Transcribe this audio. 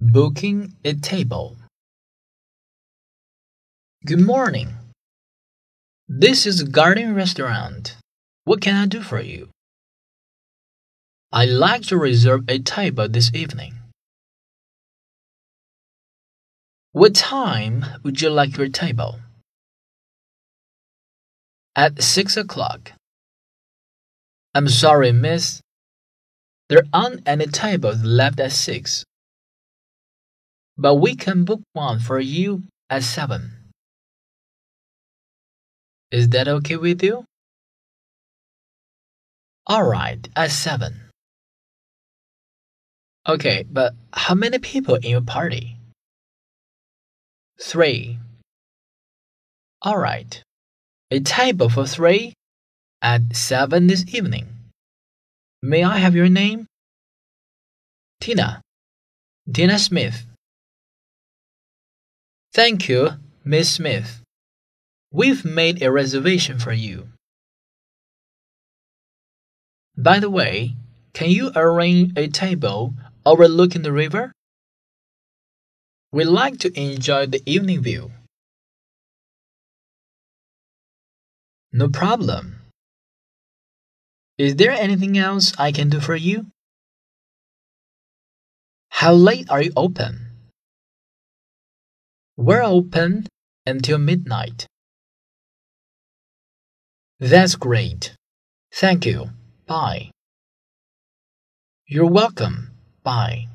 Booking a table. Good morning. This is Garden Restaurant. What can I do for you? I'd like to reserve a table this evening. What time would you like your table? At 6 o'clock. I'm sorry, miss. There aren't any tables left at 6. But we can book one for you at 7. Is that okay with you? Alright, at 7. Okay, but how many people in your party? 3. Alright. A table for 3 at 7 this evening. May I have your name? Tina. Tina Smith. Thank you, Miss Smith. We've made a reservation for you. By the way, can you arrange a table overlooking the river? We'd like to enjoy the evening view. No problem. Is there anything else I can do for you? How late are you open? We're open until midnight. That's great. Thank you. Bye. You're welcome. Bye.